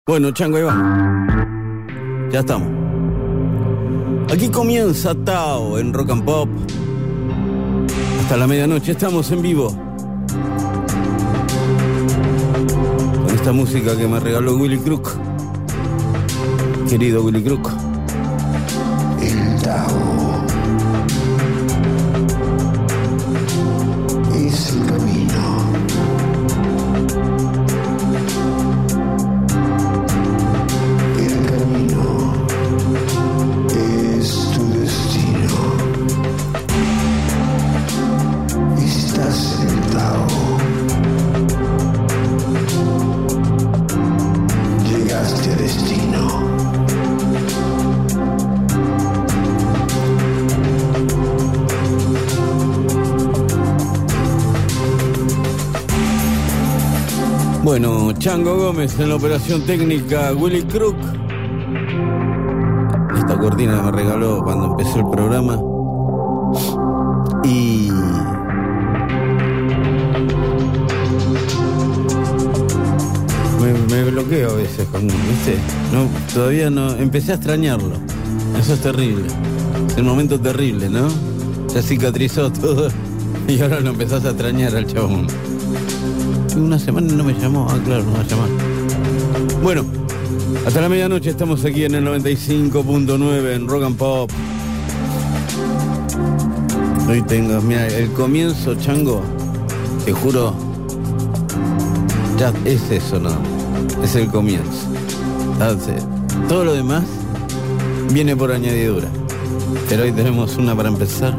Bueno, Chango, ahí va. Ya estamos. Aquí comienza Tao en Rock and Pop. Hasta la medianoche estamos en vivo. Con esta música que me regaló Willy Crook. Querido Willy Crook. El Tao es el camino. El camino es tu destino. Estás en el Tao. Llegaste a destino. Bueno, Chango Gómez en la operación técnica, Willy Crook. Esta cortina me regaló cuando empezó el programa. Y me bloqueo a veces con, ¿viste? No, todavía no, empecé a extrañarlo. Eso es terrible. Es un momento terrible, ¿no? Ya cicatrizó todo y ahora lo empezás a extrañar al chabón. Una semana no me llamó, claro, no va a llamar. Bueno, hasta la medianoche estamos aquí en el 95.9 en Rock and Pop. Hoy tengo, mira, el comienzo, Chango, te juro, ya es eso, ¿no? Es el comienzo. Entonces, todo lo demás viene por añadidura. Pero hoy tenemos una para empezar.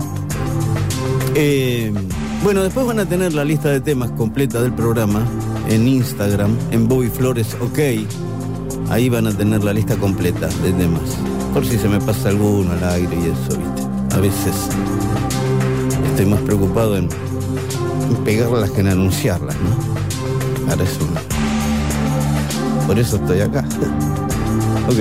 Bueno, después van a tener la lista de temas completa del programa en Instagram, en Bobby Flores OK. Ahí van a tener la lista completa de temas. Por si se me pasa alguno al aire y eso, ¿viste? A veces estoy más preocupado en pegarlas que en anunciarlas, ¿no? Para eso. Por eso estoy acá. Ok.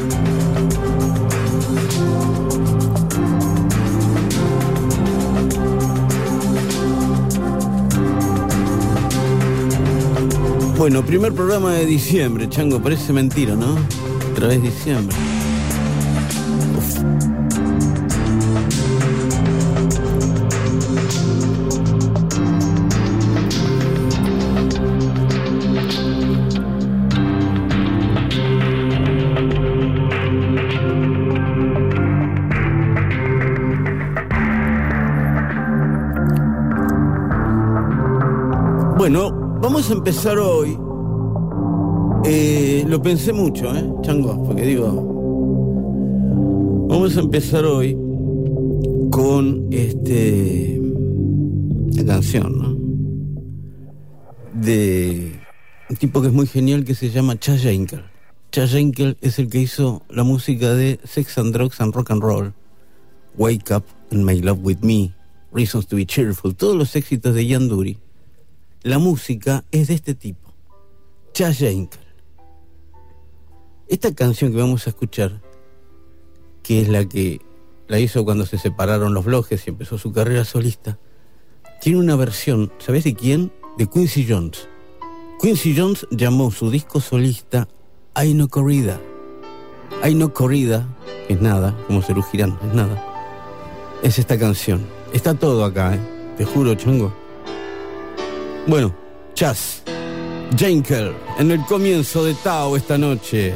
Bueno, primer programa de diciembre, Chango, parece mentira, ¿no? Otra vez diciembre. Uf. Bueno, vamos a empezar hoy. Lo pensé mucho, Chango, porque digo, vamos a empezar hoy con la canción, ¿no? De un tipo que es muy genial que se llama Chas Jankel. Chas Jankel es el que hizo la música de Sex and Drugs and Rock and Roll, Wake Up and Make Love With Me, Reasons to Be Cheerful, todos los éxitos de Ian Dury. La música es de este tipo, Chas Jankel. Esta canción que vamos a escuchar, que es la que la hizo cuando se separaron los Bloques y empezó su carrera solista, tiene una versión, ¿sabés de quién? De Quincy Jones. Quincy Jones llamó su disco solista Ay No Corrida. Ay No Corrida, que es nada, como Serú Girán, es nada. Es esta canción. Está todo acá, te juro, Chango. Bueno, Chas Jankel en el comienzo de Tao esta noche.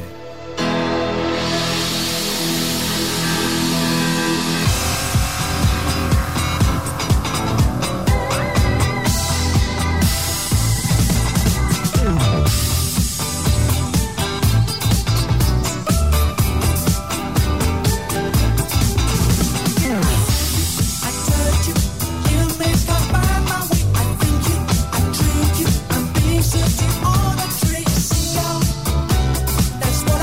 That's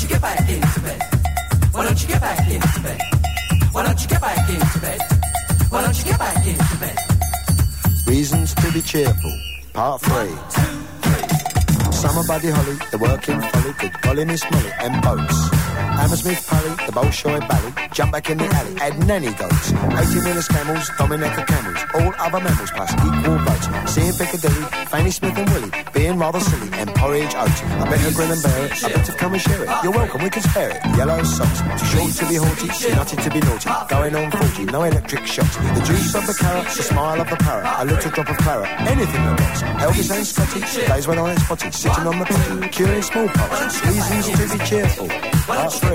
you get back into bed? Why don't you get back into bed? Why don't you get back into bed? Why don't you get back into bed? Reasons to be cheerful, part 3. 1, 2, 3. Summer Buddy Holly, the working folly, good golly Miss Molly, and boats. Hammersmith Parry, the Bolshoi Valley, jump back in the alley, add nanny goats. 18-wheelers camels, Dominica camels, all other mammals plus equal votes. Seeing Piccadilly, Fanny Smith and Willie, being rather silly, and porridge oats. I better grin and bear it, I better come and share it. You're welcome, we can spare it. Yellow socks, too short to be haughty, too nutty to be naughty. Going on 40, no electric shocks. The juice of the carrot, the smile of the parrot, a little drop of claret, anything that works. Elvis and Scotty, days when I was spotty, sitting on the potty, curing smallpox. Reasons to be cheerful, part 3.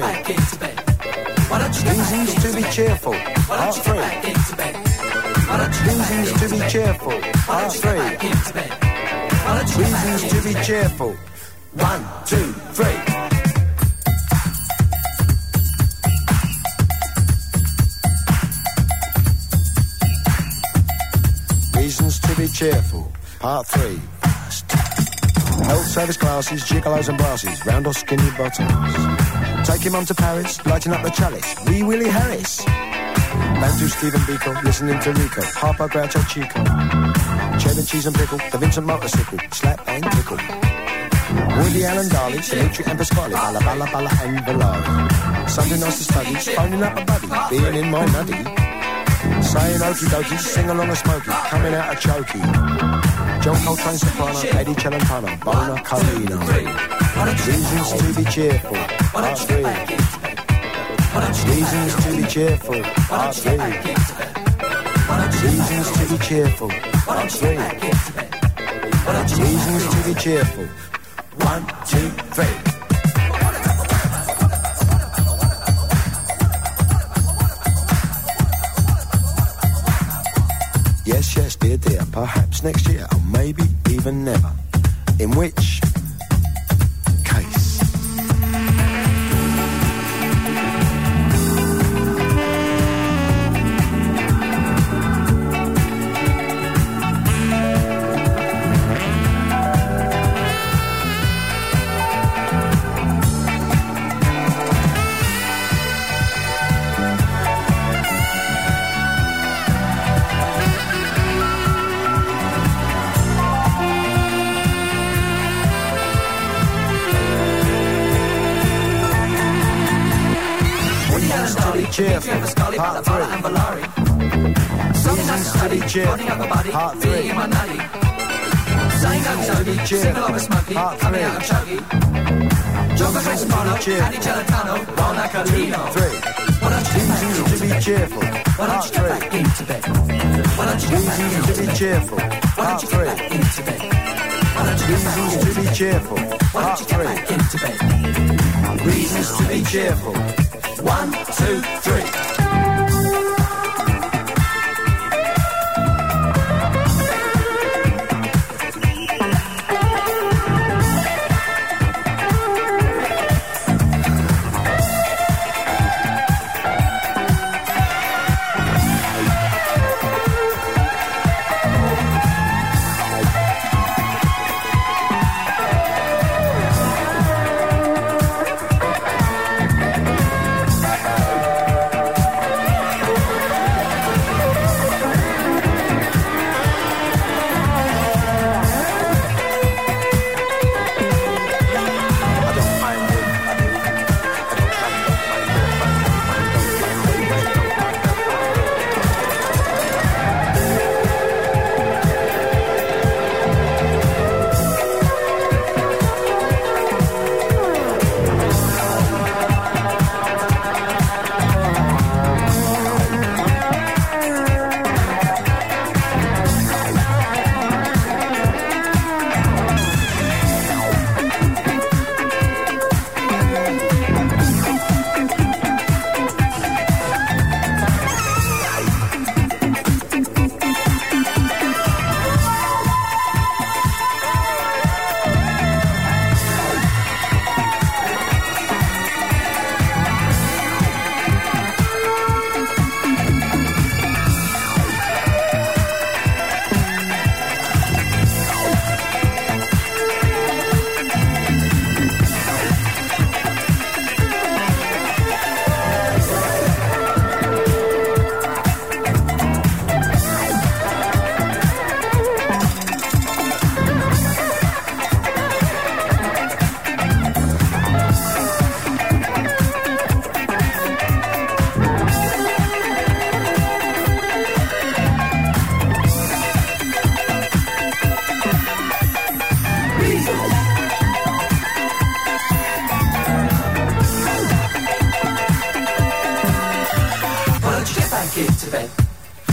Reasons to be cheerful, part 3. Reasons to be cheerful, part 3. Reasons to be cheerful, 1, 2, 3. Reasons to be cheerful, part 3. Health service classes, gigolos and brasses, round or skinny bottoms. Taking mum to Paris, lighting up the chalice, Wee Willie Harris. Bantu Stephen Biko, listening to Rico, Harper Groucho Chico. Cheddar cheese and pickle, the Vincent motorcycle, slap and tickle. Woody Allen Darley, Dimitri and Pasquale, Balla Balla Balla and Valari. Sunday nice to study, phoning up a buddy, being in my nutty. Saying okie dokie, sing along a smoky, coming out a chokey. John Coltrane soprano, Eddie Celentano, Bona Carino. Reasons to be cheerful, part 3. Reasons to be cheerful, part 3. Reasons to be cheerful, part 3. Reasons to be cheerful, 1, 2, 3. Yes, yes, dear, dear, perhaps next year, or maybe even never. In which case... Cheerful, part 3. Reasons to be cheerful, part 3. Reasons to be cheerful, part 3. Reasons to be cheerful, 1, 2, 3. Reasons to be cheerful, part 3. Reasons to be cheerful, part 3. Reasons to be cheerful, part 3. Reasons to be cheerful, 1, 2, 3.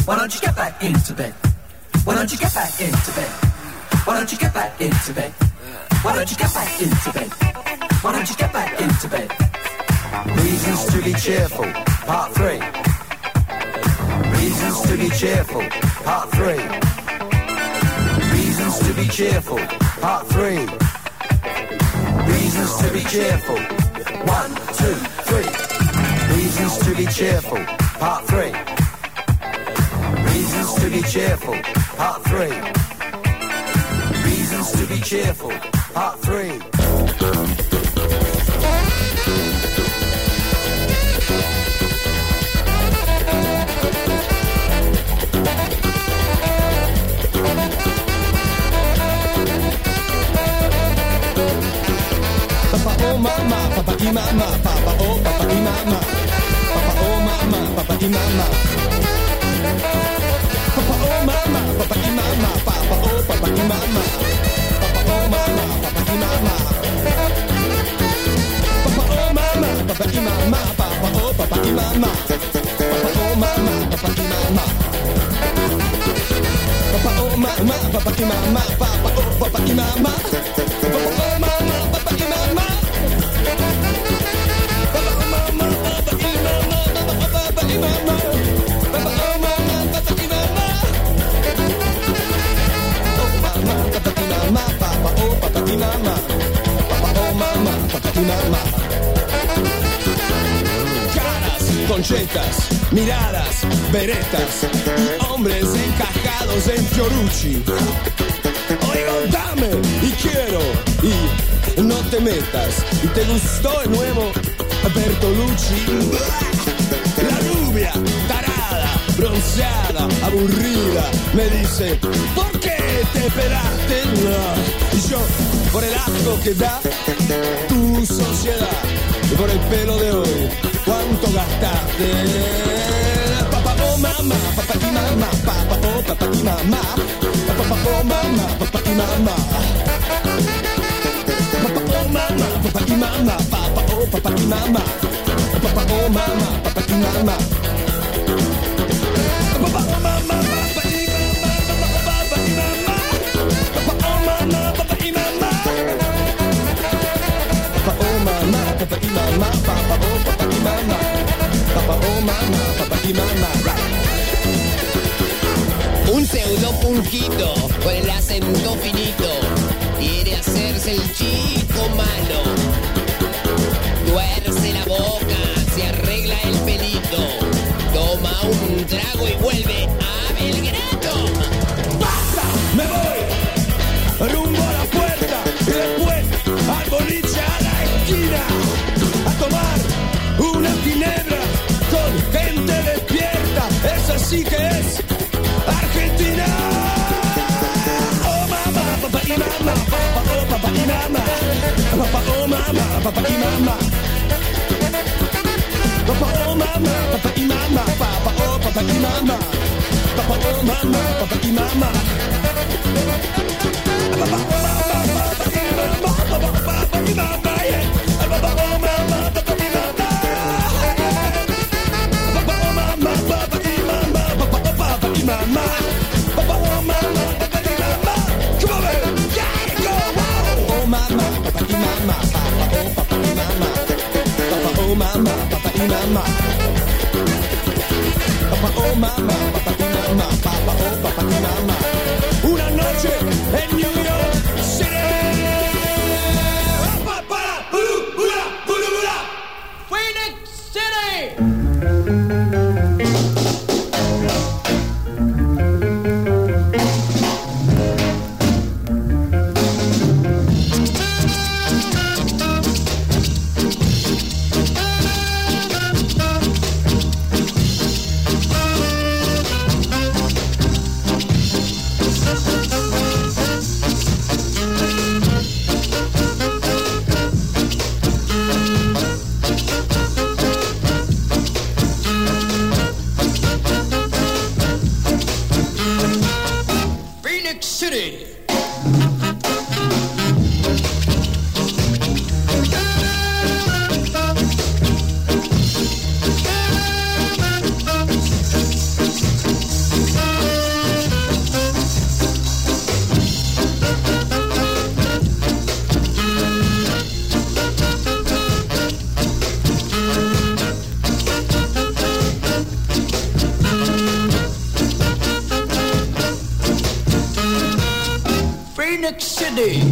Why don't you get back into bed? Why don't you get back into bed? Why don't you get back into bed? Why don't you get back into bed? Why don't you get back into bed? Reasons to be cheerful, part 3. Reasons to be cheerful, part 3. Reasons to be cheerful, part 3. Reasons to be cheerful, 1, 2, 3. Reasons to be cheerful, part 3. Reasons to be cheerful, part 3. Reasons to be cheerful, part 3. Papa oh mama, papa y mama, papa oh papa y mama, papa oh mama, papa y mama, papa oh mama, papa y mama, papa oh papa y mama, papa oh mama, papa y mama, papa oh mama, papa y mama, papa oh papa y mama, papa oh mama, papa y mama, papa oh mama, papa y mama, papa oh papa y mama, papa oh mama, papa y mama. Caras, conchetas, miradas, veretas y hombres encajados en Fiorucci. Oigo, dame y quiero y no te metas. ¿Te gustó el nuevo Bertolucci? La rubia, tarada, bronceada, aburrida, me dice, ¿por qué te pelaste? Y yo, por el asco que da tu sociedad y por el pelo de hoy, ¿cuánto gastaste? Papá oh mamá, papá y mamá, papá oh papá y mamá, papá oh mamá, papá y mamá. Papa oh mama, papa y mama, papa oh papa y mama, papa oh mama, papa y mama, papa oh mama, papa y mama, papa y mama, papa oh mama, papa y mama, papa oh mama, papa y mama, papa oh papa y mama, papa oh mama, papa y mama. Un pseudo punquito con el acento finito quiere hacerse el chico malo. Tuerce la boca, se arregla el pelito, toma un trago y vuelve a Belgrado. ¡Basta! ¡Me voy! Rumbo a la puerta y después al boliche a la esquina a tomar una ginebra con gente despierta. Esa sí que es Argentina. Oh mamá, papá y mamá, papá oh papá y mamá, papá oh mamá, papá y mamá, papá oh mamá, papá y mamá, papá oh papá y mamá, papá oh mamá, papá y mamá, papá oh mamá, papá y mamá, papá oh papá y mamá, papá oh mamá, papá y mamá, papá oh mamá, papá y mamá, papá oh papá y mamá. Papa oh mama, papa y mama, come on, yeah, go, wow. Oh mama, papa y mama, papa oh papa y mama, papa oh mama, papa y mama, papa oh mama, papa y mama, papa oh papa y mama. Una noche en New York City. Phoenix City. Phoenix City.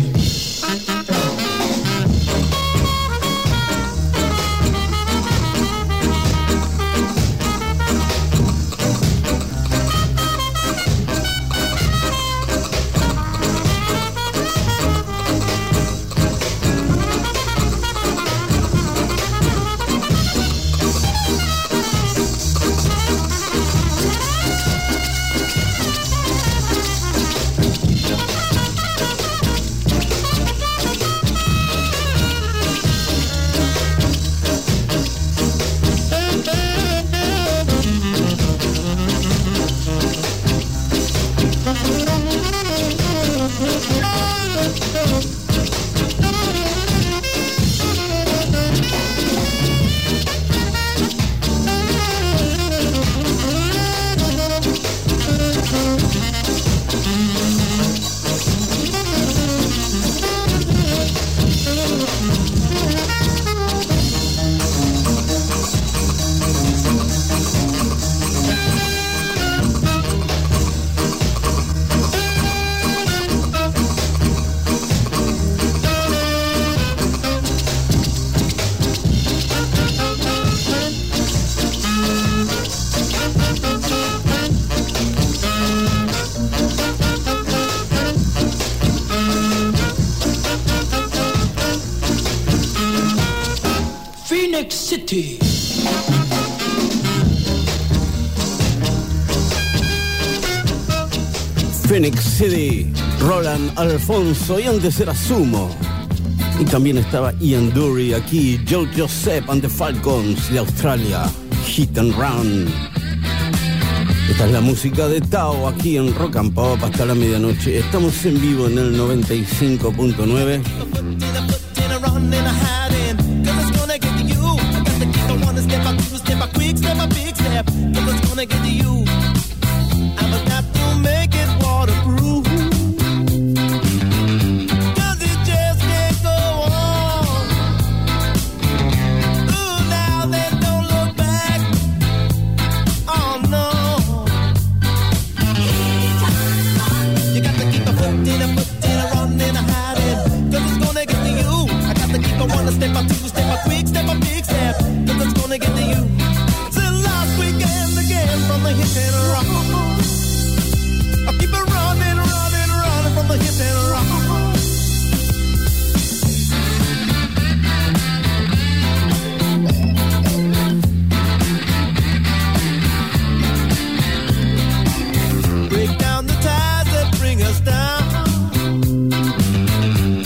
Phoenix City. Phoenix City, Roland Alfonso, y antes era Sumo. Y también estaba Ian Dury aquí, Joe Joseph and the Falcons de Australia, Hit and Run. Esta es la música de Tao aquí en Rock and Pop hasta la medianoche. Estamos en vivo en el 95.9.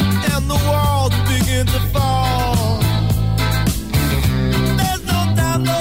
To fall. There's no time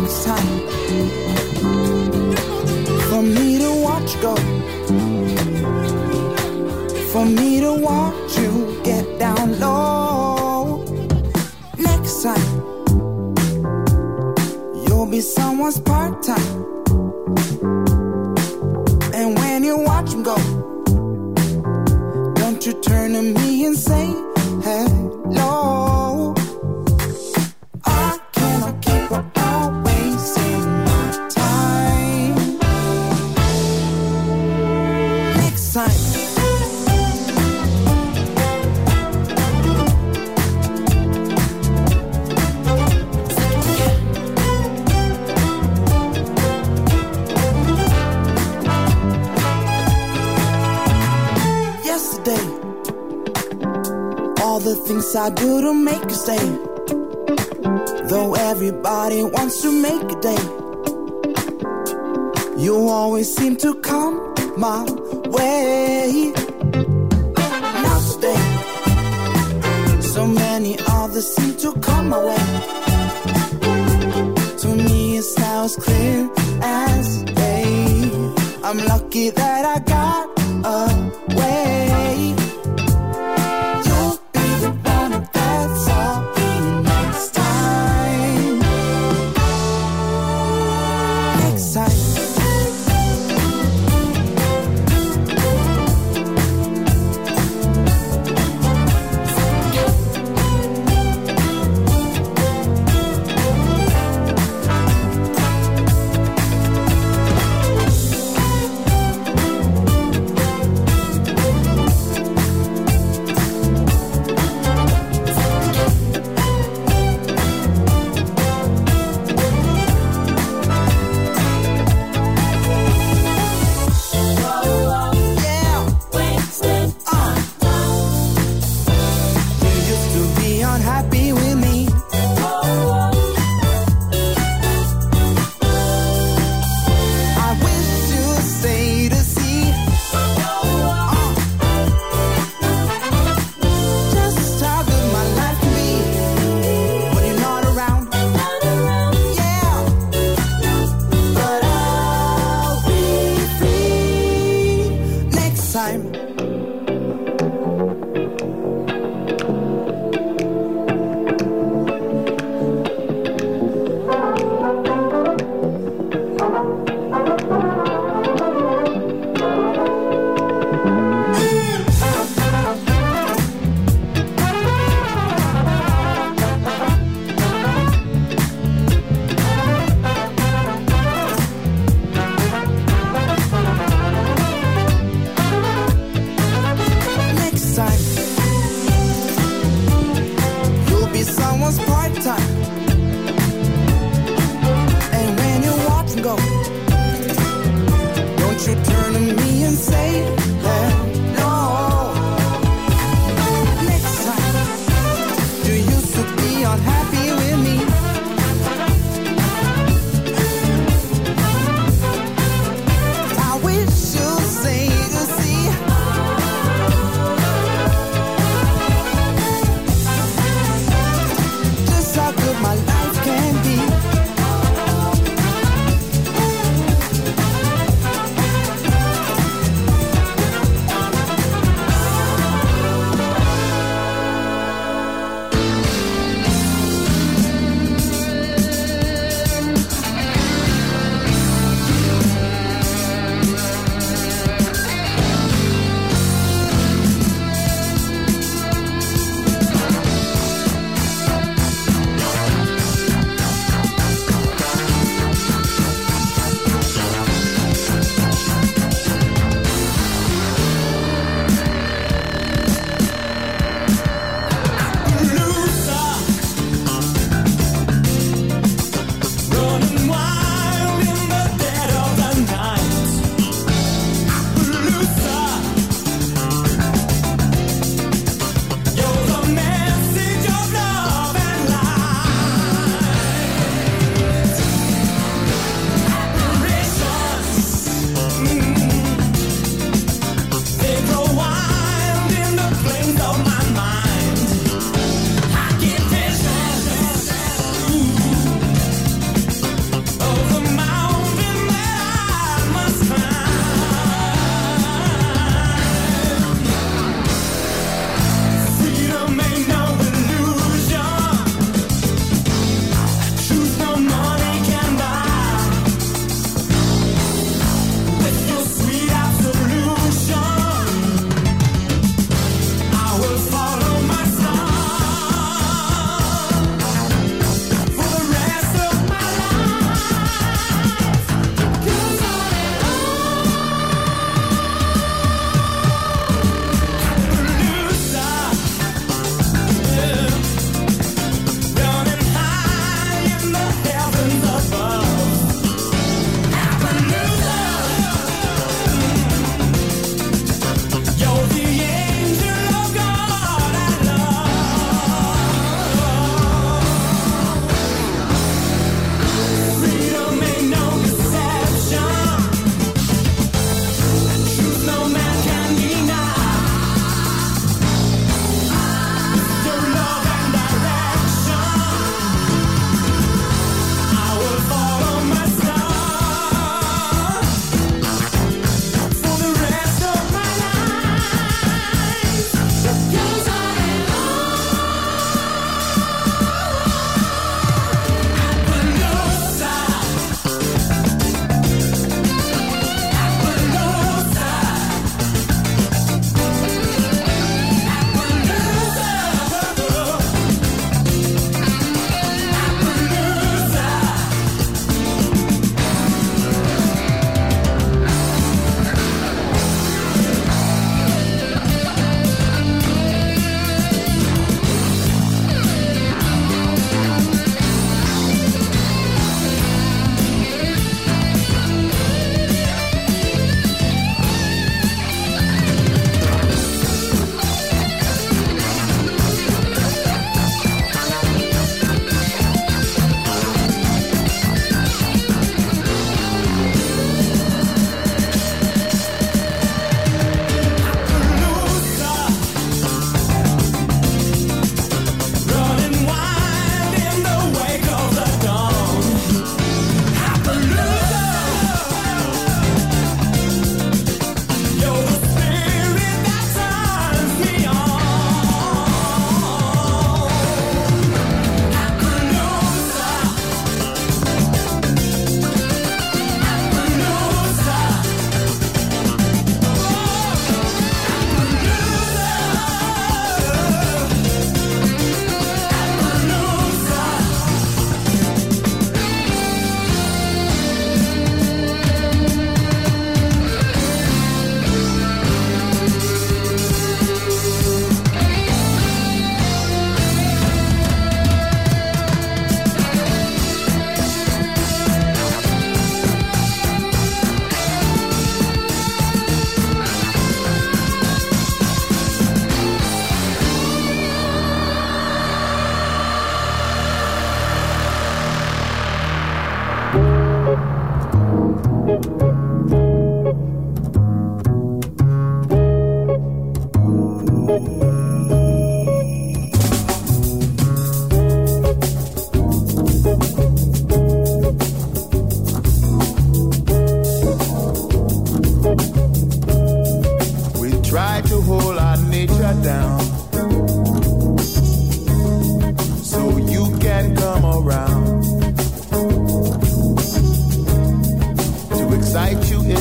next time for me to watch you go, for me to watch you get down low. Next time you'll be someone's part-time, and when you watch him go, don't you turn to me and say hello. I cannot keep on wasting my time. Next time. Yesterday, all the things I do to make you stay, though everybody wants to make a day, you always seem to come my way. Now today, so many others seem to come my way. To me it's now as clear as day. I'm lucky that I got away. You'll be the one that's all me next time. Next time.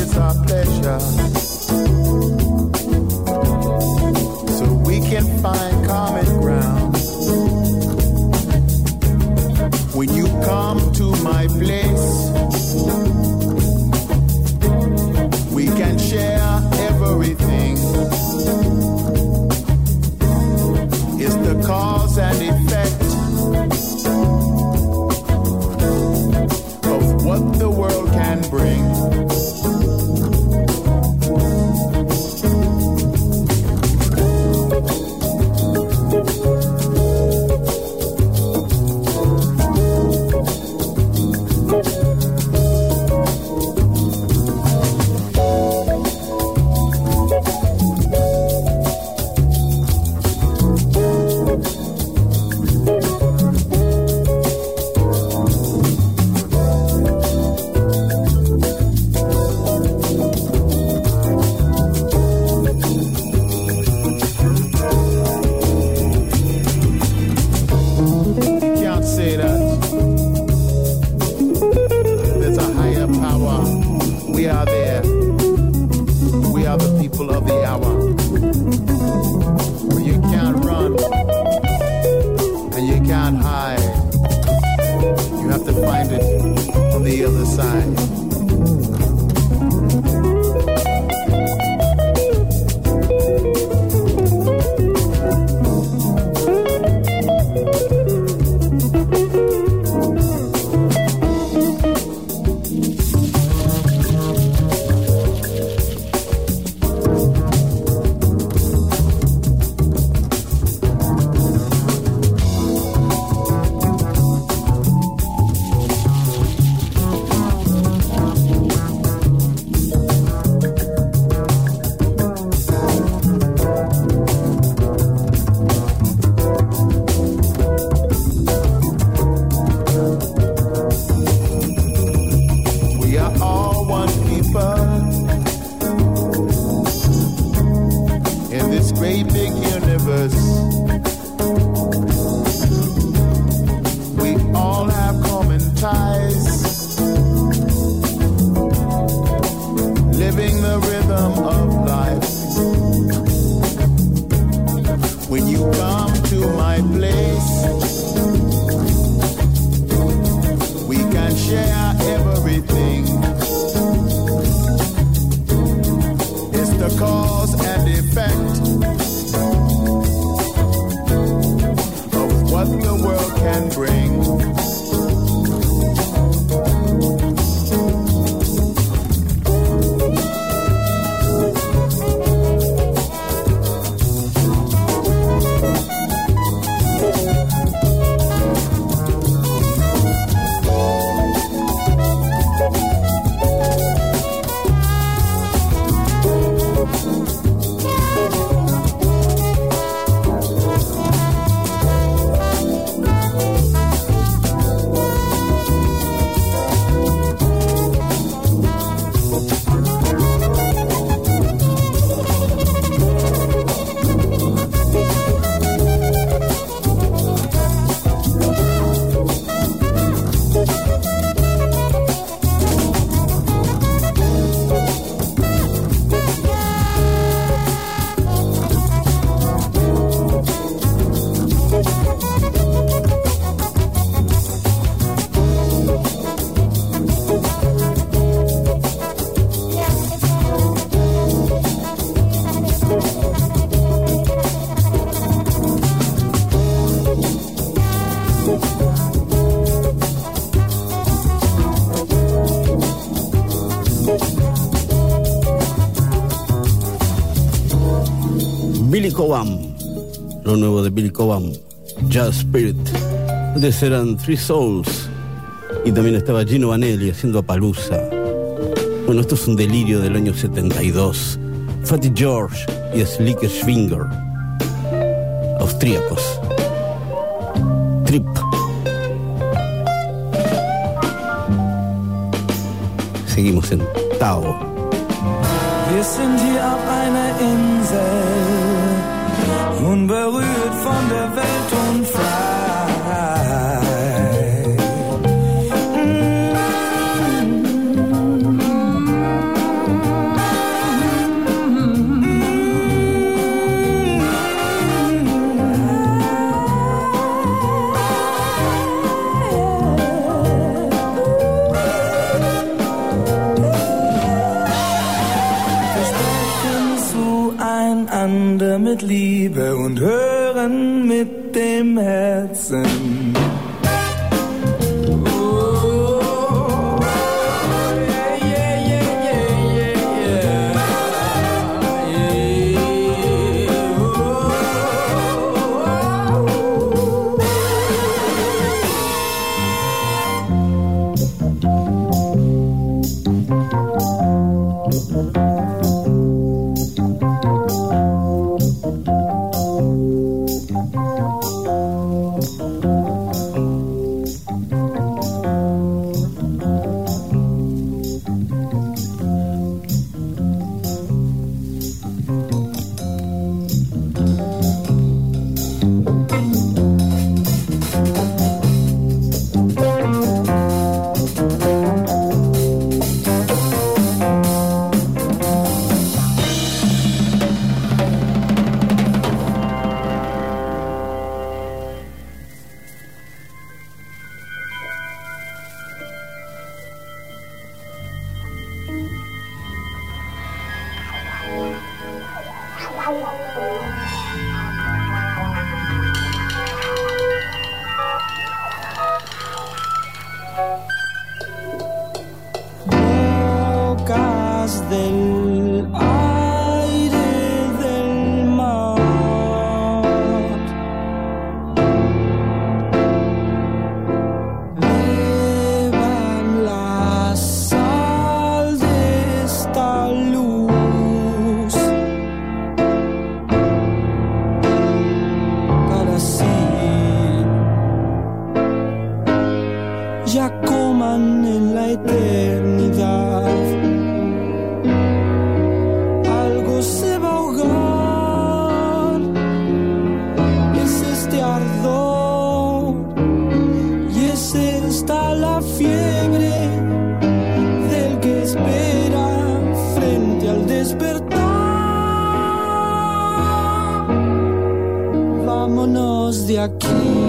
it's our pleasure, so we can find common ground. When you come to my place, we can share everything. It's the cause and effect of what the world can bring. Billy Cobham, lo nuevo de Billy Cobham, Jazz Spirit. Antes eran Three Souls y también estaba Gino Vanelli haciendo Apalooza. Bueno, esto es un delirio del año 72. Fatty George y Slick Schwinger, austríacos. Trip. Seguimos en Tao. Wir sind hier auf einer Insel, unberührt von der Welt und frei. mit Liebe und hören mit dem Herzen. Vámonos de aquí.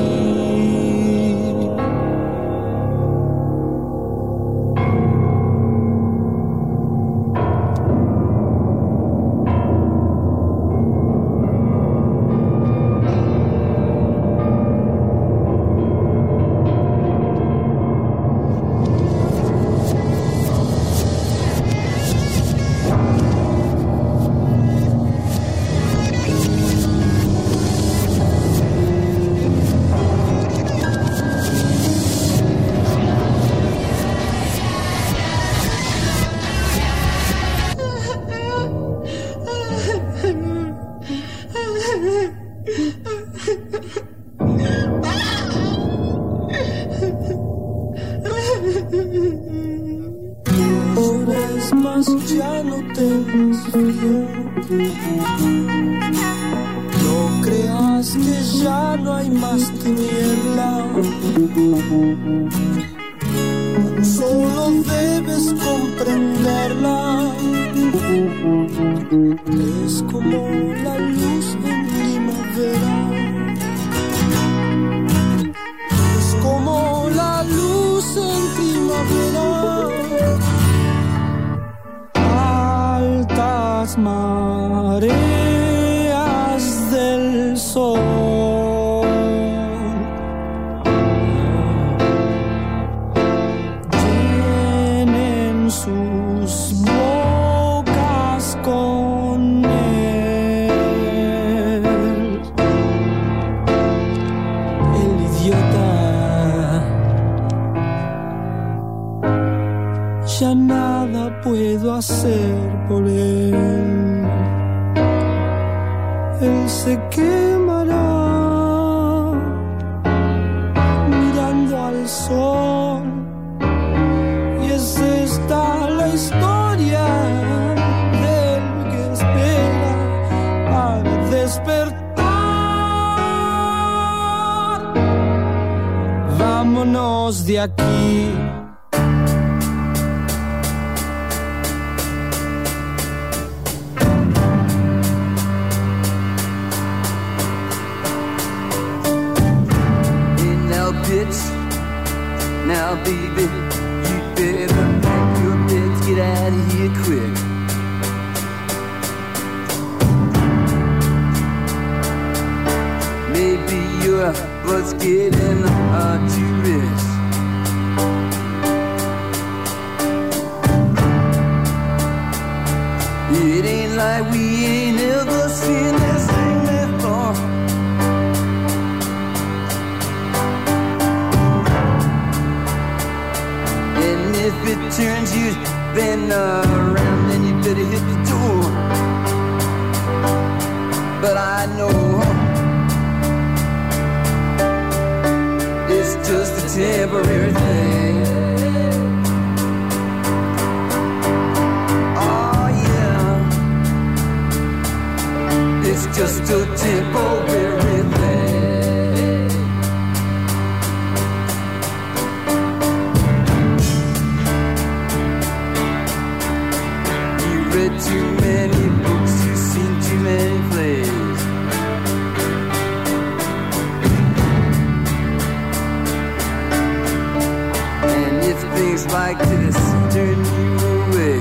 Ya no tengas frío, no creas que ya no hay más tiniebla, solo debes comprenderla, es como la luz en primavera, es como la luz en primavera. Altas mareas del sol llenen sus bocas con él. El idiota, ya nada puedo hacer por él. Él se quemará mirando al sol, y es esta la historia del que espera para despertar. Vámonos de aquí. Now, baby, you better pack your bags, get out of here quick. getting hard to rest. It ain't like we ain't ever seen this thing before. And if it turns you then around, then you better hit the door. But I know it's just a temporary thing. Oh yeah, it's just a temporary thing. You read too many books, you've seen too many plays. Things like this turn you away.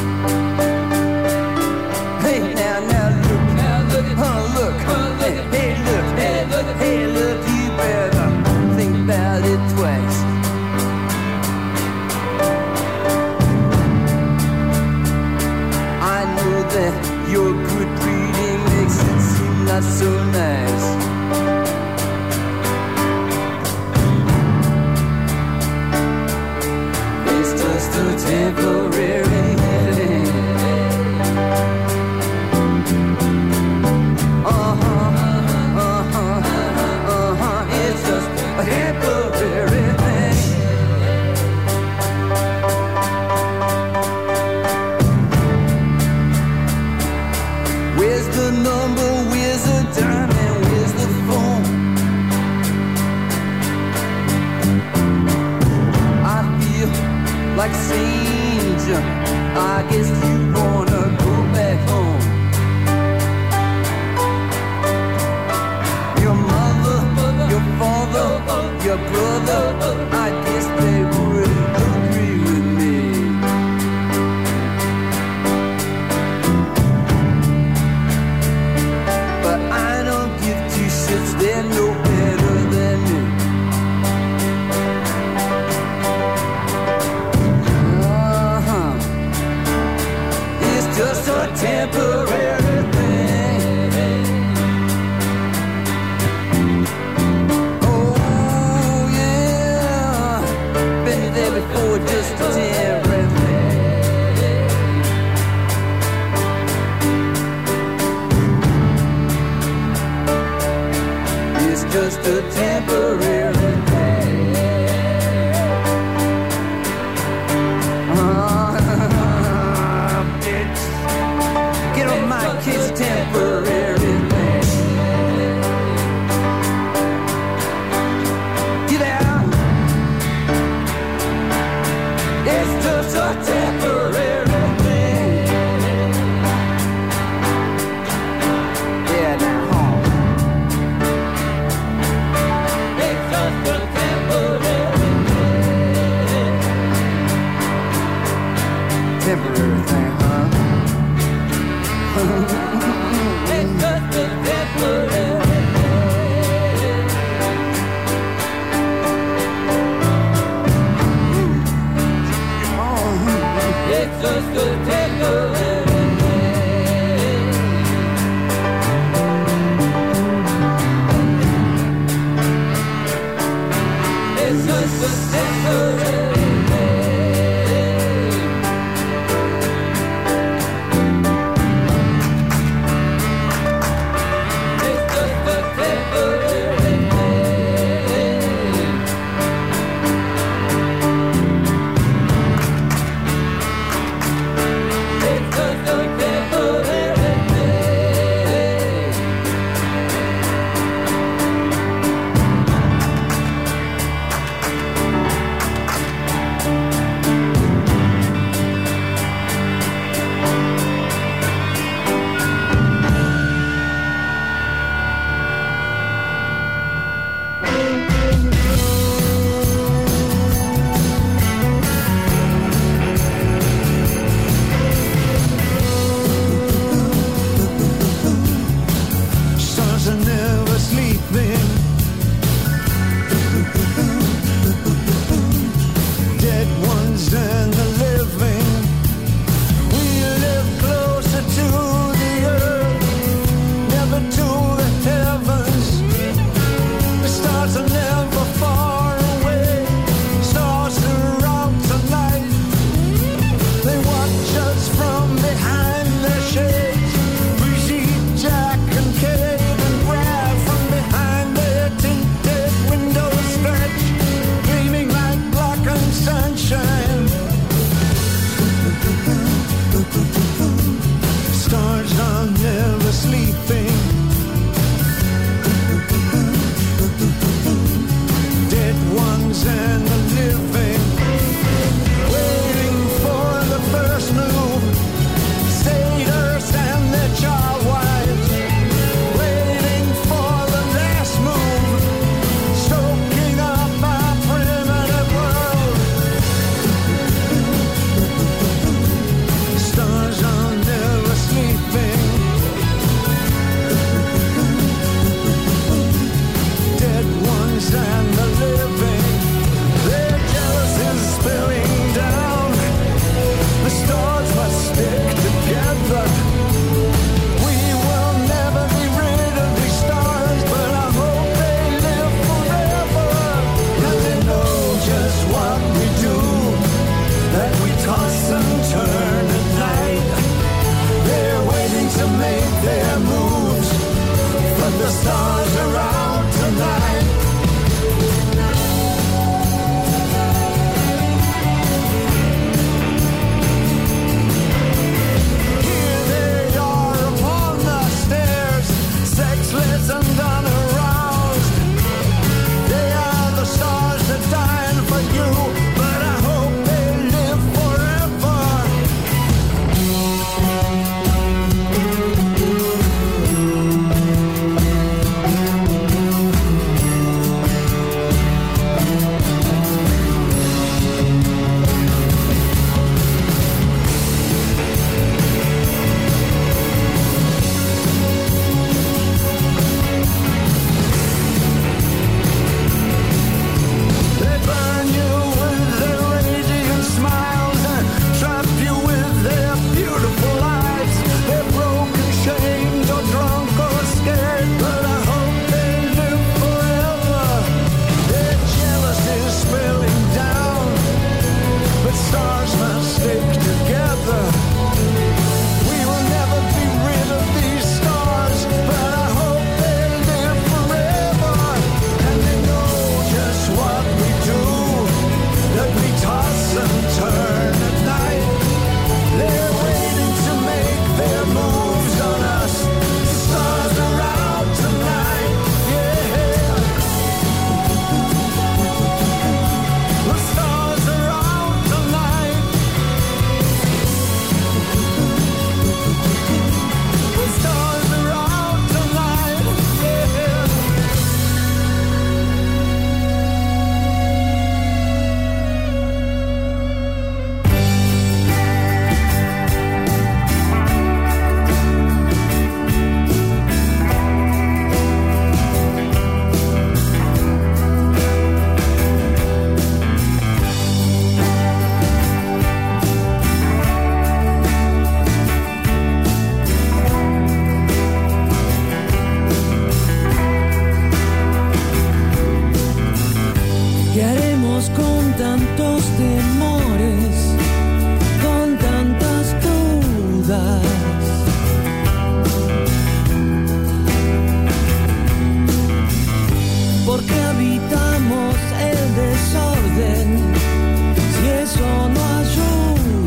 Hey, now look, look, hey, look, you better think about it twice. I know that your good breeding makes it seem not so nice. Just a temporary thing. It's just a temporary thing. Where's the number? Where's the dime? And where's the phone? I feel like stranger, I guess you wanna go back home. Your mother, your father, your brother, I guess they wouldn't agree with me. But I don't give two shits, they're no better than me. Just a temporary thing. Oh yeah, been there before, just a temporary thing. It's just a temporary thing. Get on my kids, temporary thing. Get out. It's just a temporary thing. Yeah, now home. It's just a temporary thing. Temporary thing, huh? It's just a temporary thing. It's just a temporary thing. It's just a temporary thing. Just a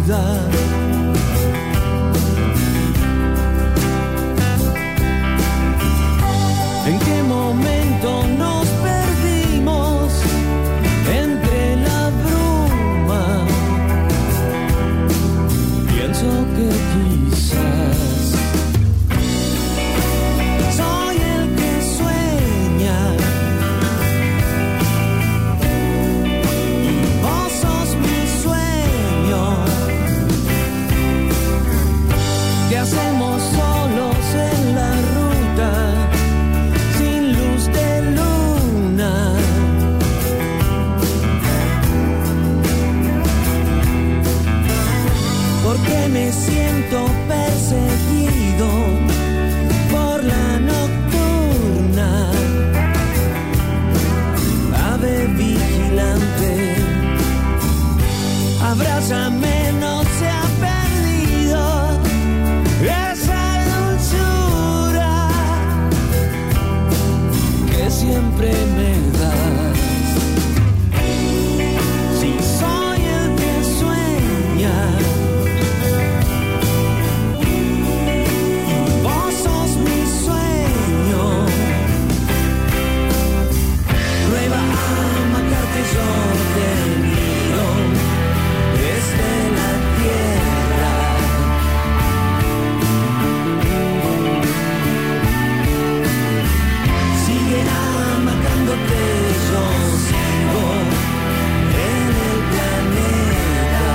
duda. ¿En qué momento nos perdimos entre la bruma? Pienso que quizás soy el que sueña y vos sos mi sueño. ¿Qué hacemos solos en la ruta? Luz de luna, porque me siento perseguido por la nocturna, ave vigilante, abrázame, no se ha perdido esa dulzura que siempre me das. Si soy el que sueña y vos sos mi sueño, prueba a amacarte, yo te miro desde la tierra. Sigue amacándote, yo sigo en el planeta.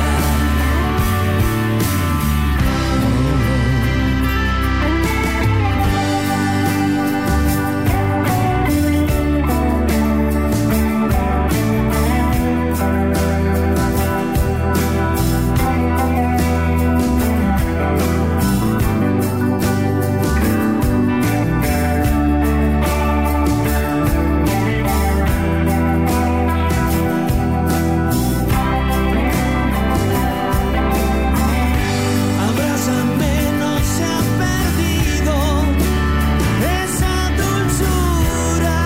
Abrázame, no se ha perdido esa dulzura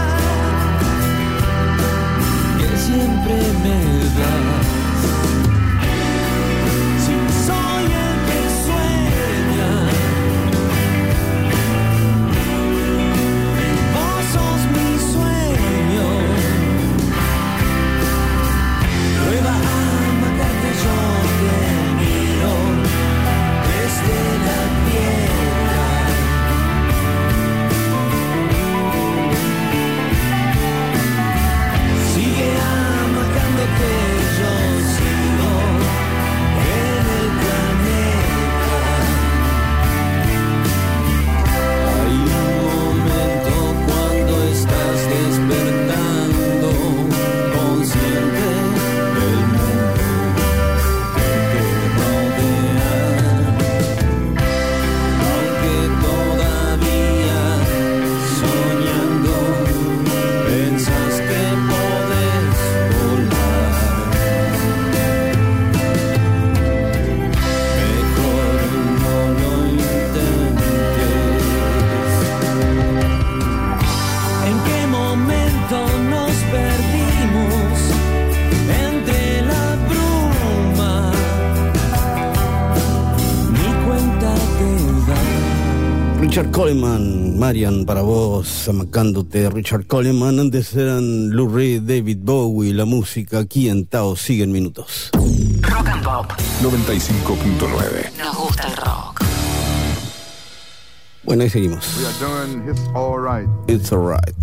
que siempre me das. Si soy el que sueña, vos sos mi sueño. Prueba a amacarte, yo te miro desde la tierra. Sigue amacándote, yo sigo en el planeta. Hay un momento cuando estás despertando, consciente del mundo que te rodea. Aunque todavía soñando pensas que podés volar, mejor no lo intentes. ¿En qué momento nos perdimos entre la bruma? Ni cuenta te da. Richard Coleman, Marian, para vos, amacándote. Richard Coleman, antes eran Lou Reed, David Bowie, la música aquí en Tao siguen minutos. Rock and Pop 95.9. Nos gusta el rock. Bueno, ahí seguimos. We are doing It's Alright. It's Alright.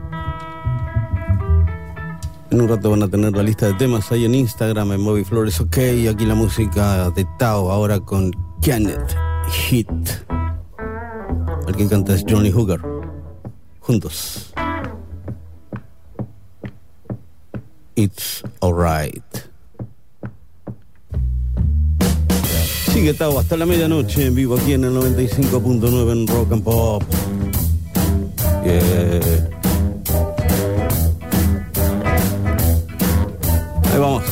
En un rato van a tener la lista de temas ahí en Instagram, en Moby Flores OK. Aquí la música de Tao, ahora con Kenneth Hit. El que canta es Johnny Hooker. Juntos. It's Alright. Sigue Tao hasta la medianoche en vivo aquí en el 95.9 en Rock and Pop. Yeah. Ahí vamos.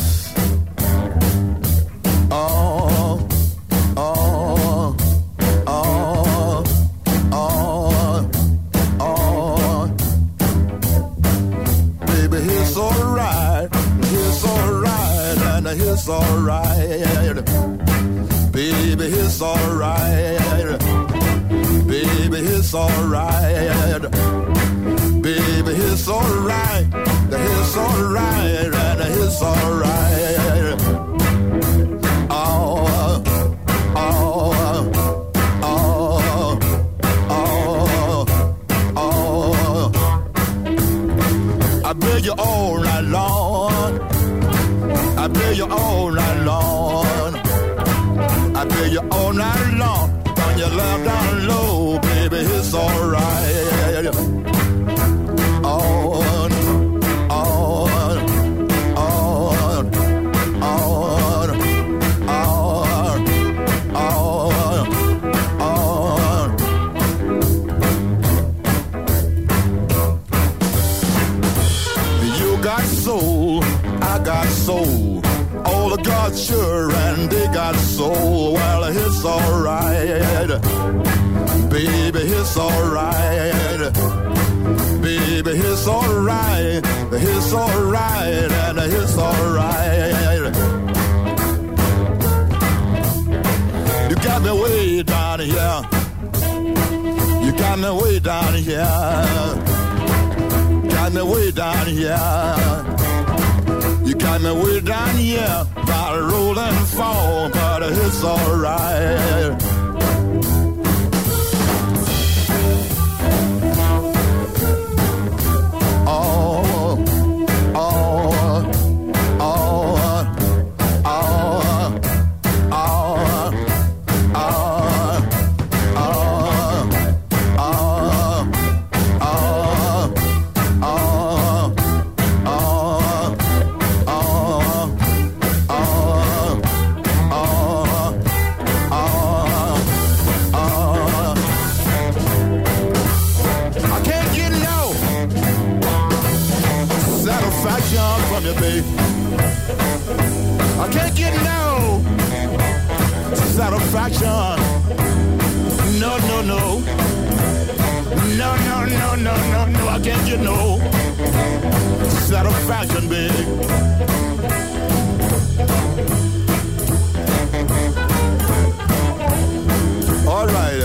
It's alright. it's alright. Baby, it's alright. Baby, it's alright. It's alright, and it's alright. Oh, oh, oh, oh, oh. I beg you all night long. I beg you all night long. I beg you all night long. When you lay down low, baby, it's alright. On, on, on, on, on, on, on. You got soul, I got soul. All of God's sure and they got soul. Well, it's alright. Baby, it's alright. Baby, it's alright. It's alright and it's alright. You got me way down here. You got me way down here. Got me way down here. You got me way down here, by roll and fall, but it's alright. Oh, oh, oh, oh, oh, from you, babe. I can't get no satisfaction. No, no, no. No, no, no, no, no, no. I can't get no satisfaction, babe. All right.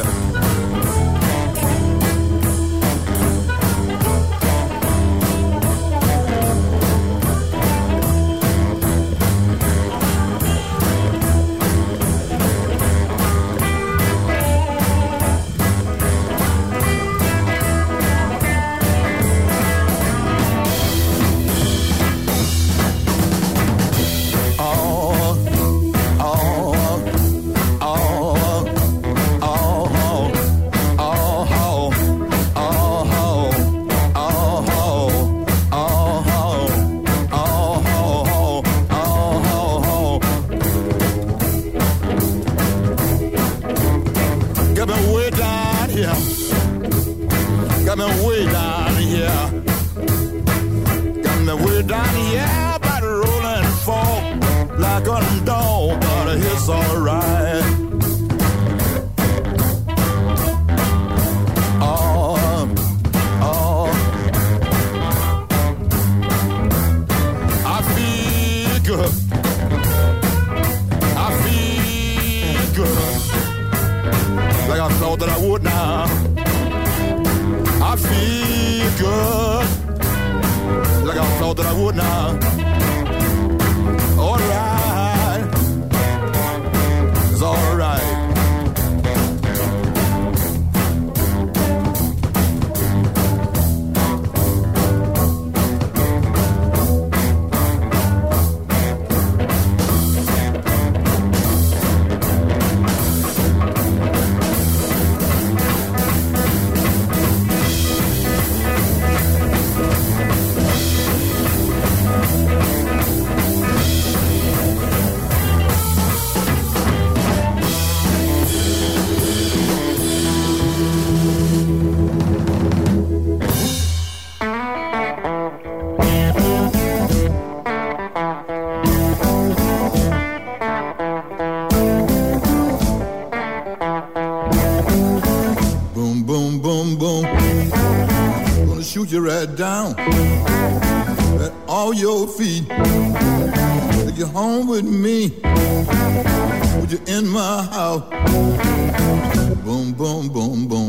You right down at all your feet. They take you home with me. Would you in my house? Boom, boom, boom, boom.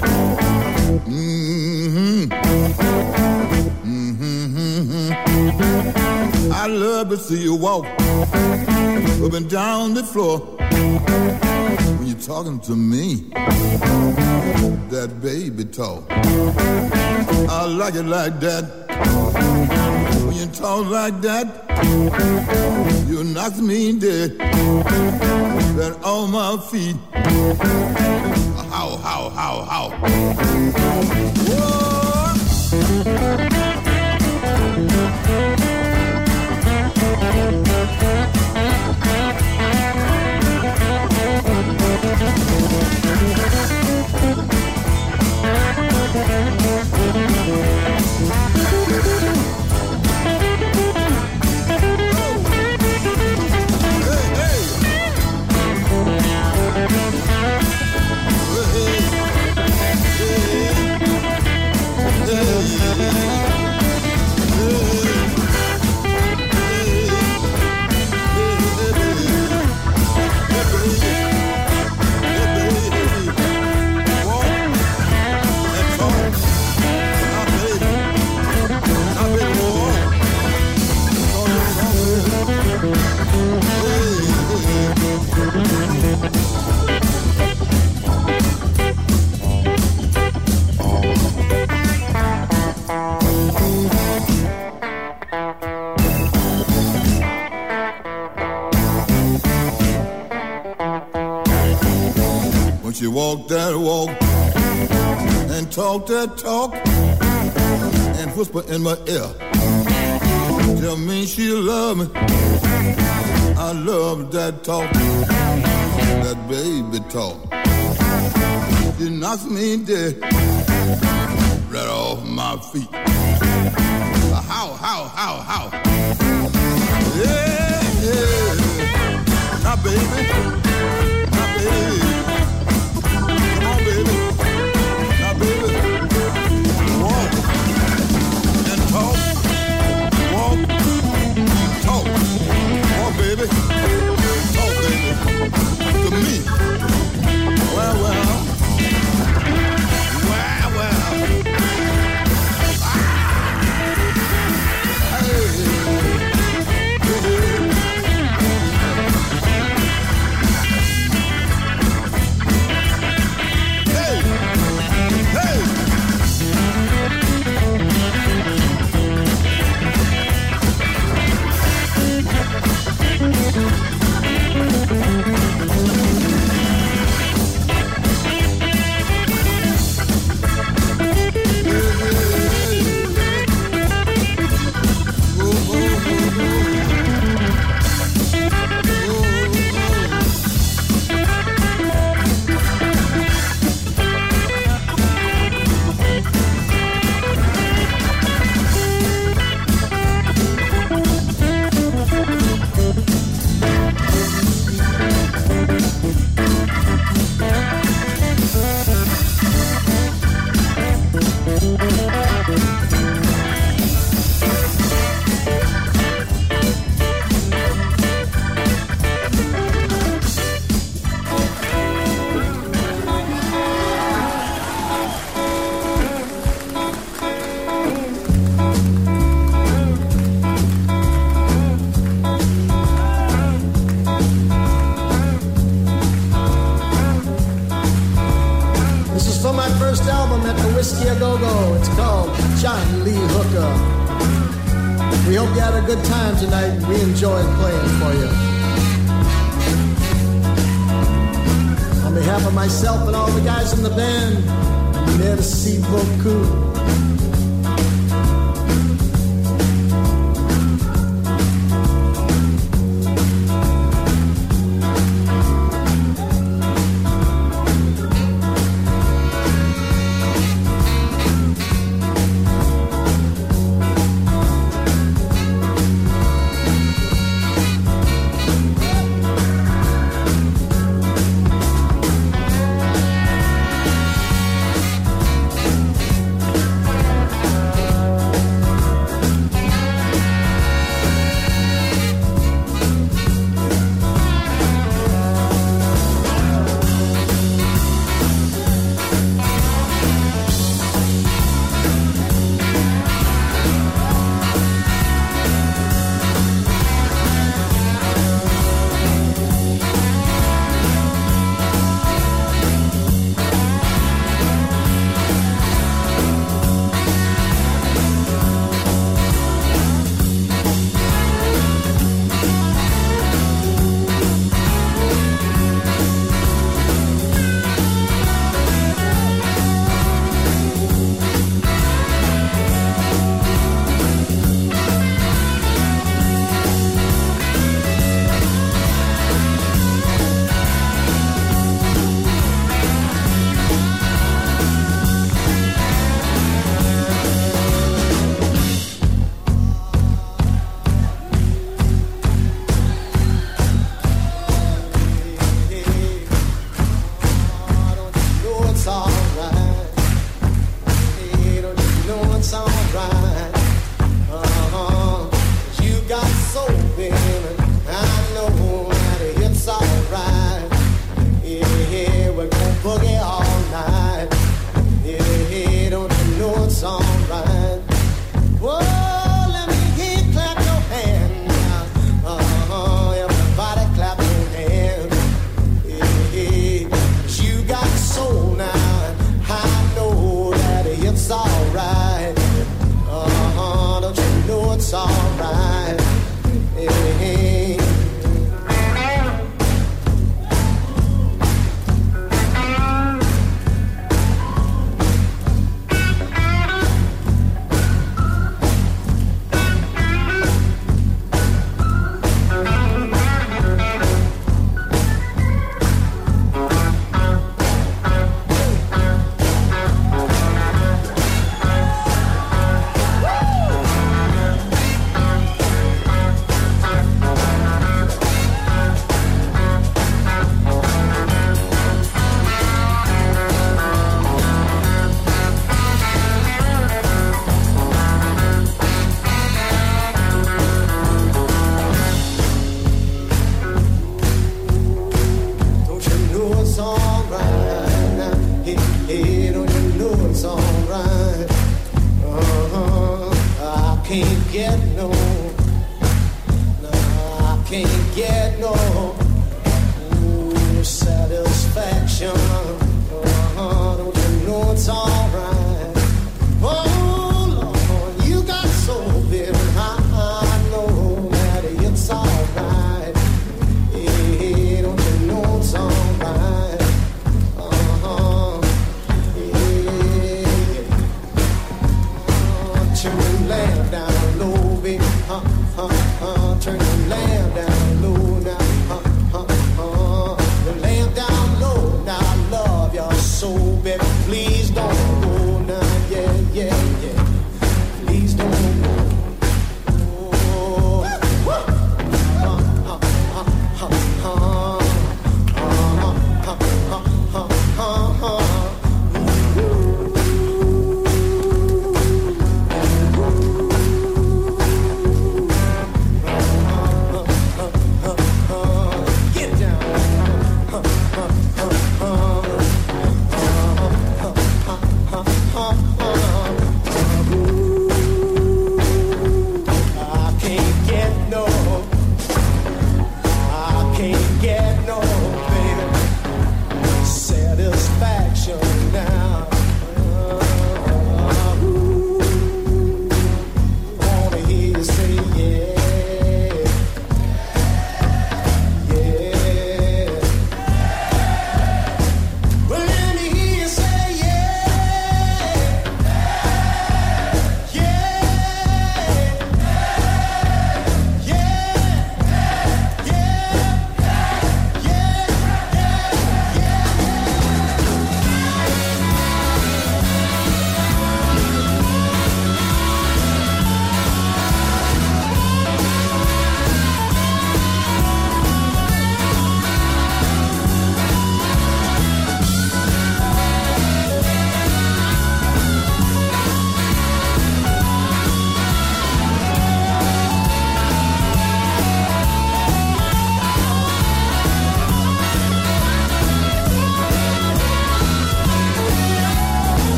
Mm-hmm. I love to see you walk up and down the floor when you're talking to me. That baby talk, I like it like that. When you talk like that, you knock me dead. That on my feet. How? Whoa! You walk that walk and talk that talk and whisper in my ear. Tell me she love me. I love that talk, that baby talk. She knocks me dead right off my feet. How? Yeah. Now, baby. Baby, talk, baby, to me. Well. Whiskey A Go-Go. It's called John Lee Hooker. We hope you had a good time tonight. We enjoyed playing for you. On behalf of myself and all the guys in the band, merci beaucoup. get no, no, I can't get no satisfaction. Don't you know it's alright? Oh Lord, you got so very high. I know that it's alright. Hey, don't you know it's alright? Turn the lamp down low, baby. Turn the lamp down low now. The lamp down low now. I love your soul, baby. Please don't go now. Yeah, yeah, yeah. Please don't go.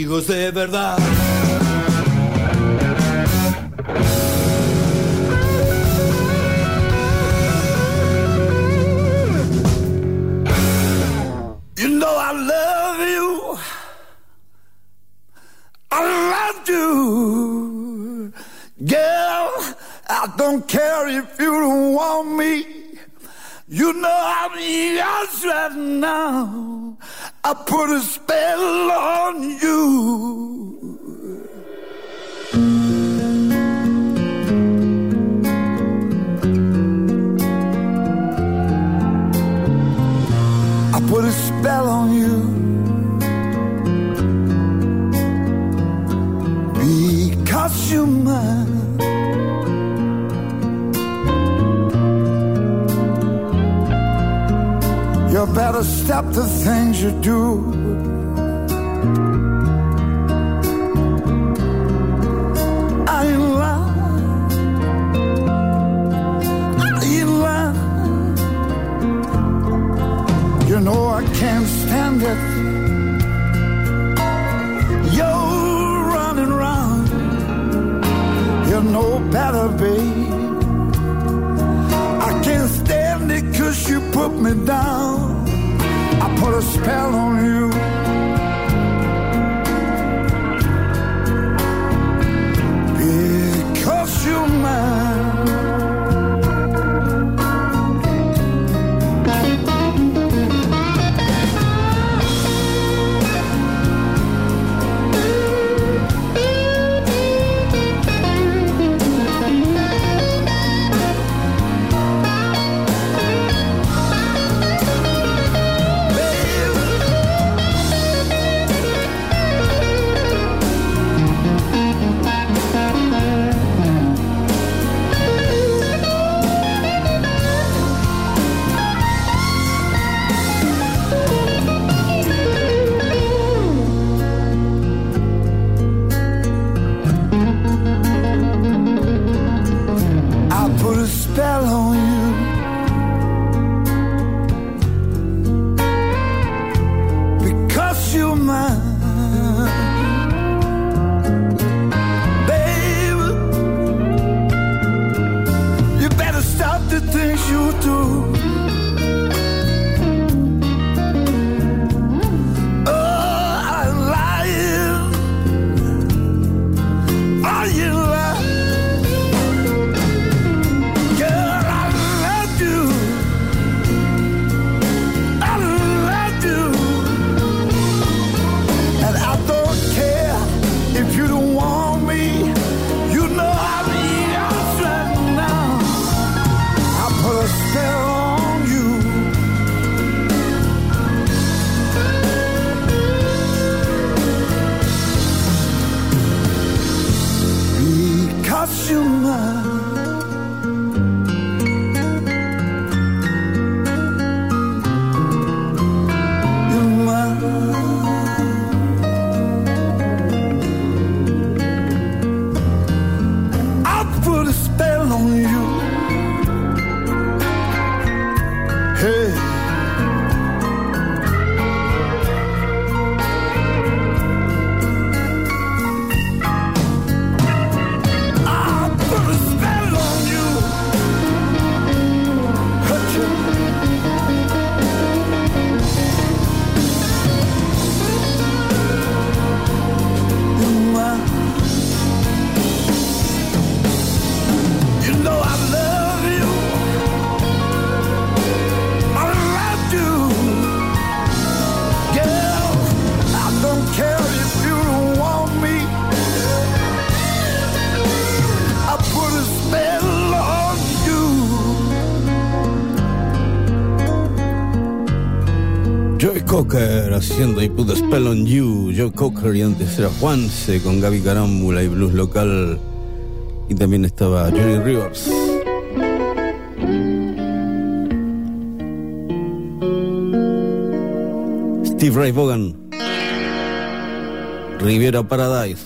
amigos de verdad. You know I love you. I love you. Girl, I don't care if you don't want me. You know I'm yours right now. I put a spell on you. I put a spell on you. Because you're mine. You better stop the things you do. I ain't lying. I ain't lying. You know I can't stand it. You're running round. You know better, babe. I can't stand it 'cause you put me down. I put a spell on you. Because you're mine. Joe Cocker haciendo I Put a Spell on You. Joe Cocker, y antes era Juanse con Gaby Carámbula y blues local, y también estaba Johnny Rivers. Steve Ray Vaughan, Riviera Paradise.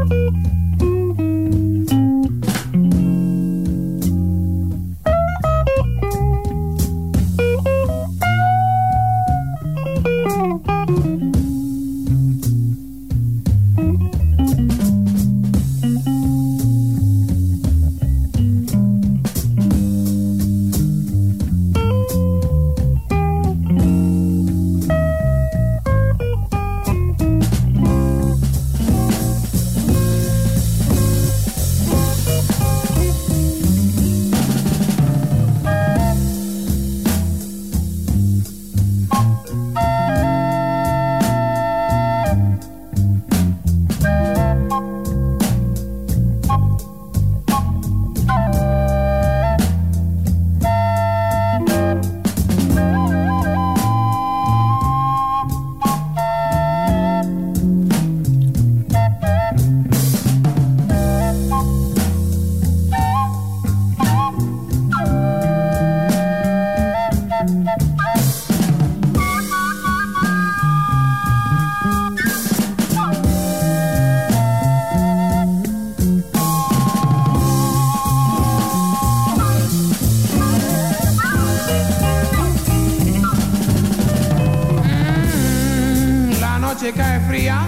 Cae fría,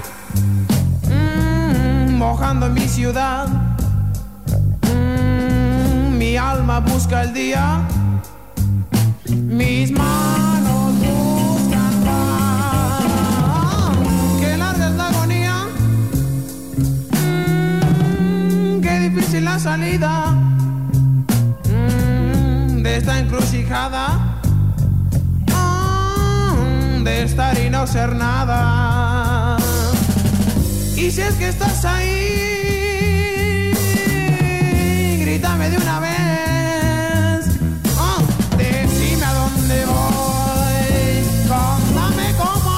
mojando mi ciudad. Mi alma busca el día, mis manos buscan paz. Qué larga es la agonía, qué difícil la salida de esta encrucijada, de estar y no ser nada. Y si es que estás ahí, grítame de una vez. Decime a dónde voy, contame cómo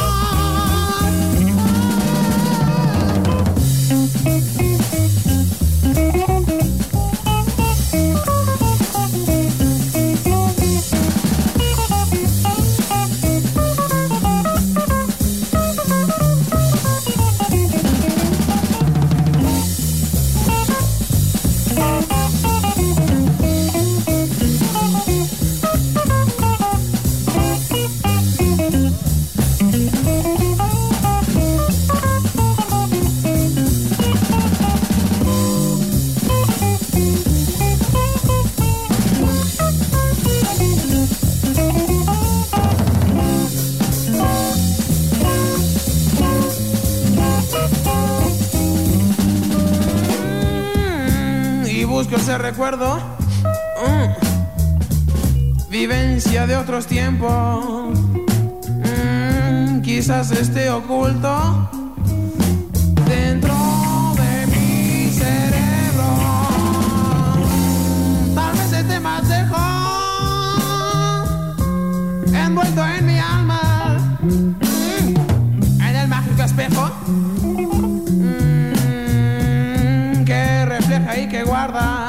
ese recuerdo, vivencia de otros tiempos, quizás esté oculto dentro de mi cerebro. Tal vez esté más lejos, envuelto en mi alma, en el mágico espejo que refleja y que guarda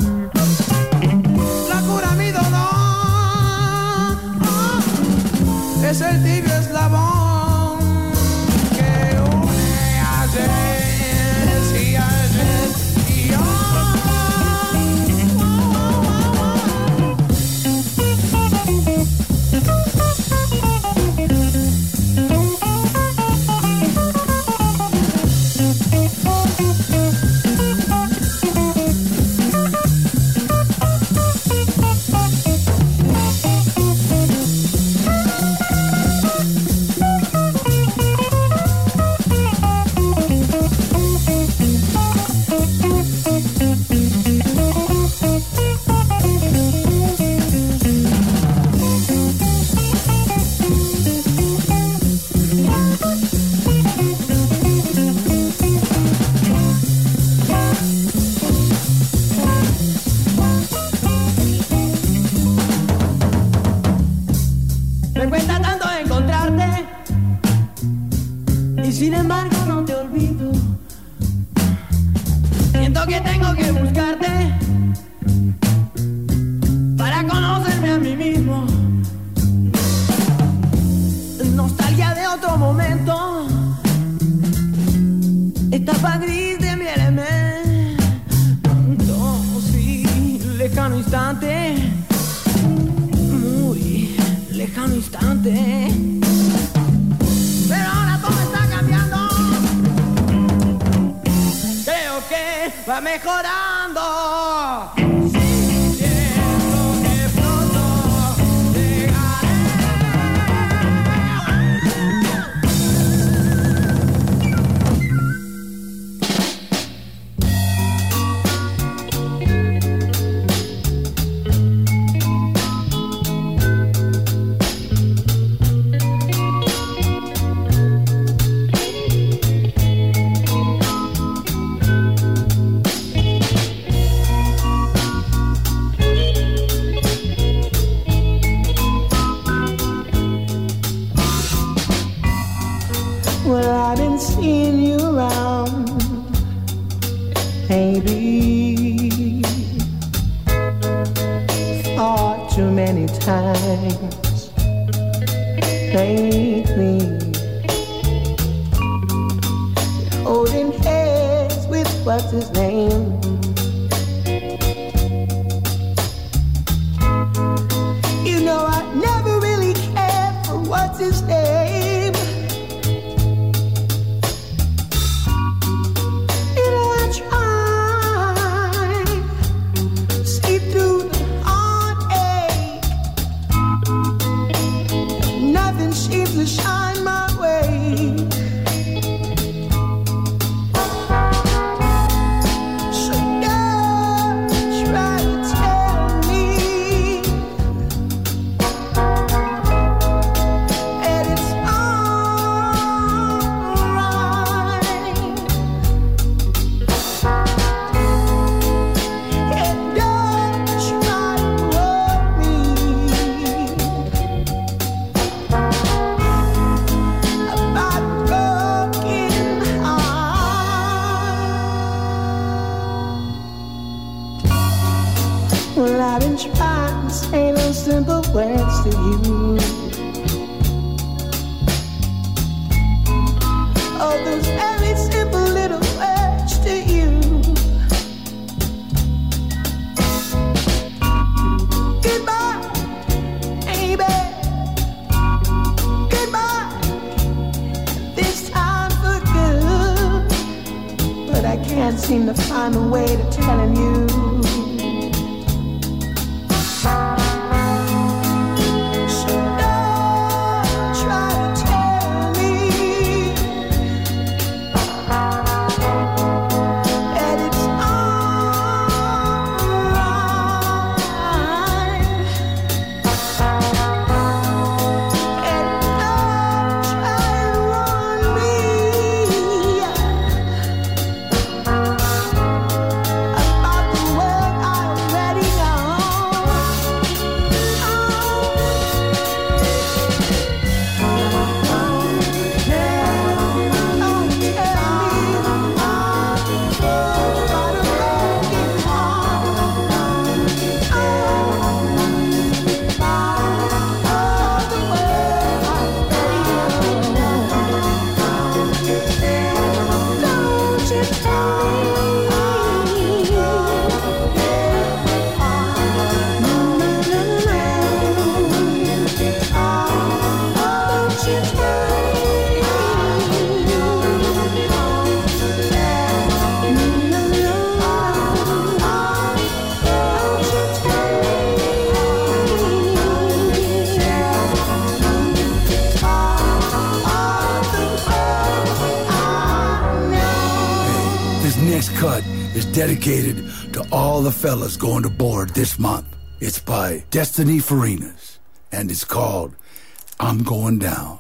es el tibio eslabón que une ayer y ayer y hoy. Me cuesta tanto encontrarte y sin embargo no te olvido. Siento que tengo que buscarte para conocerme a mí mismo. Nostalgia de otro momento, etapa gris viéreme, sí, lejano instante, muy lejano instante. Pero ahora todo está cambiando, creo que va mejorando. Dedicated to all the fellas going to board this month. It's by Destiny Farinas, and it's called I'm Going Down.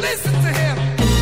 listen to him.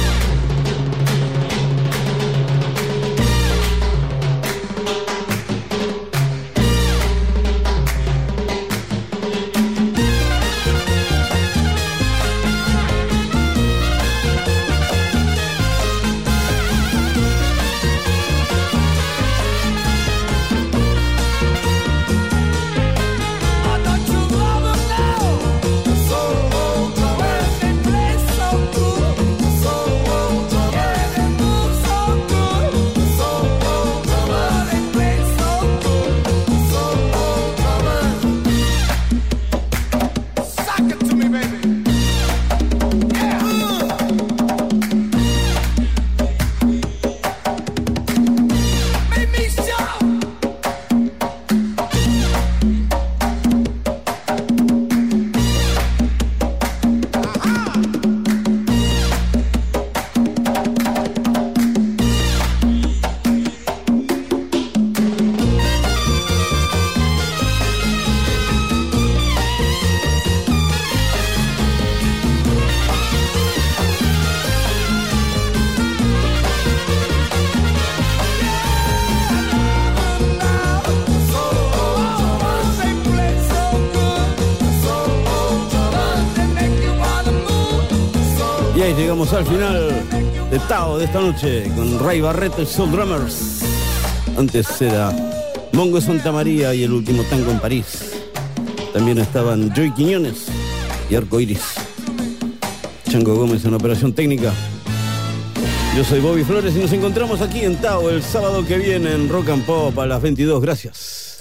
Llegamos al final de Tao de esta noche con Ray Barreto y Soul Drummers. Antes era Mongo Santa María y El Último Tango en París. También estaban Joey Quiñones y Arco Iris. Chango Gómez en operación técnica. Yo soy Bobby Flores y nos encontramos aquí en Tao el sábado que viene en Rock and Pop a las 22. Gracias.